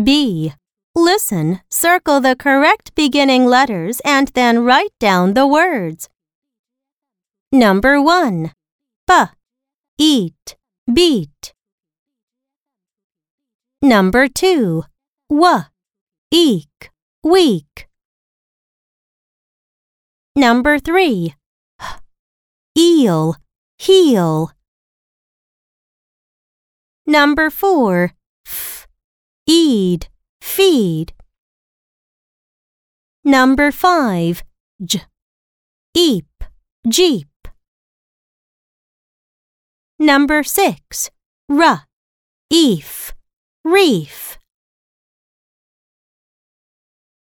B. Listen, circle the correct beginning letters and then write down the words. Number 1. B. Eat, beat. Number 2. W. Eek, week. Number 3. H. Eel, heel. Number 4. F. Eed, feed. Number 5. J. Eep, jeep. Number 6. R. Eef, reef.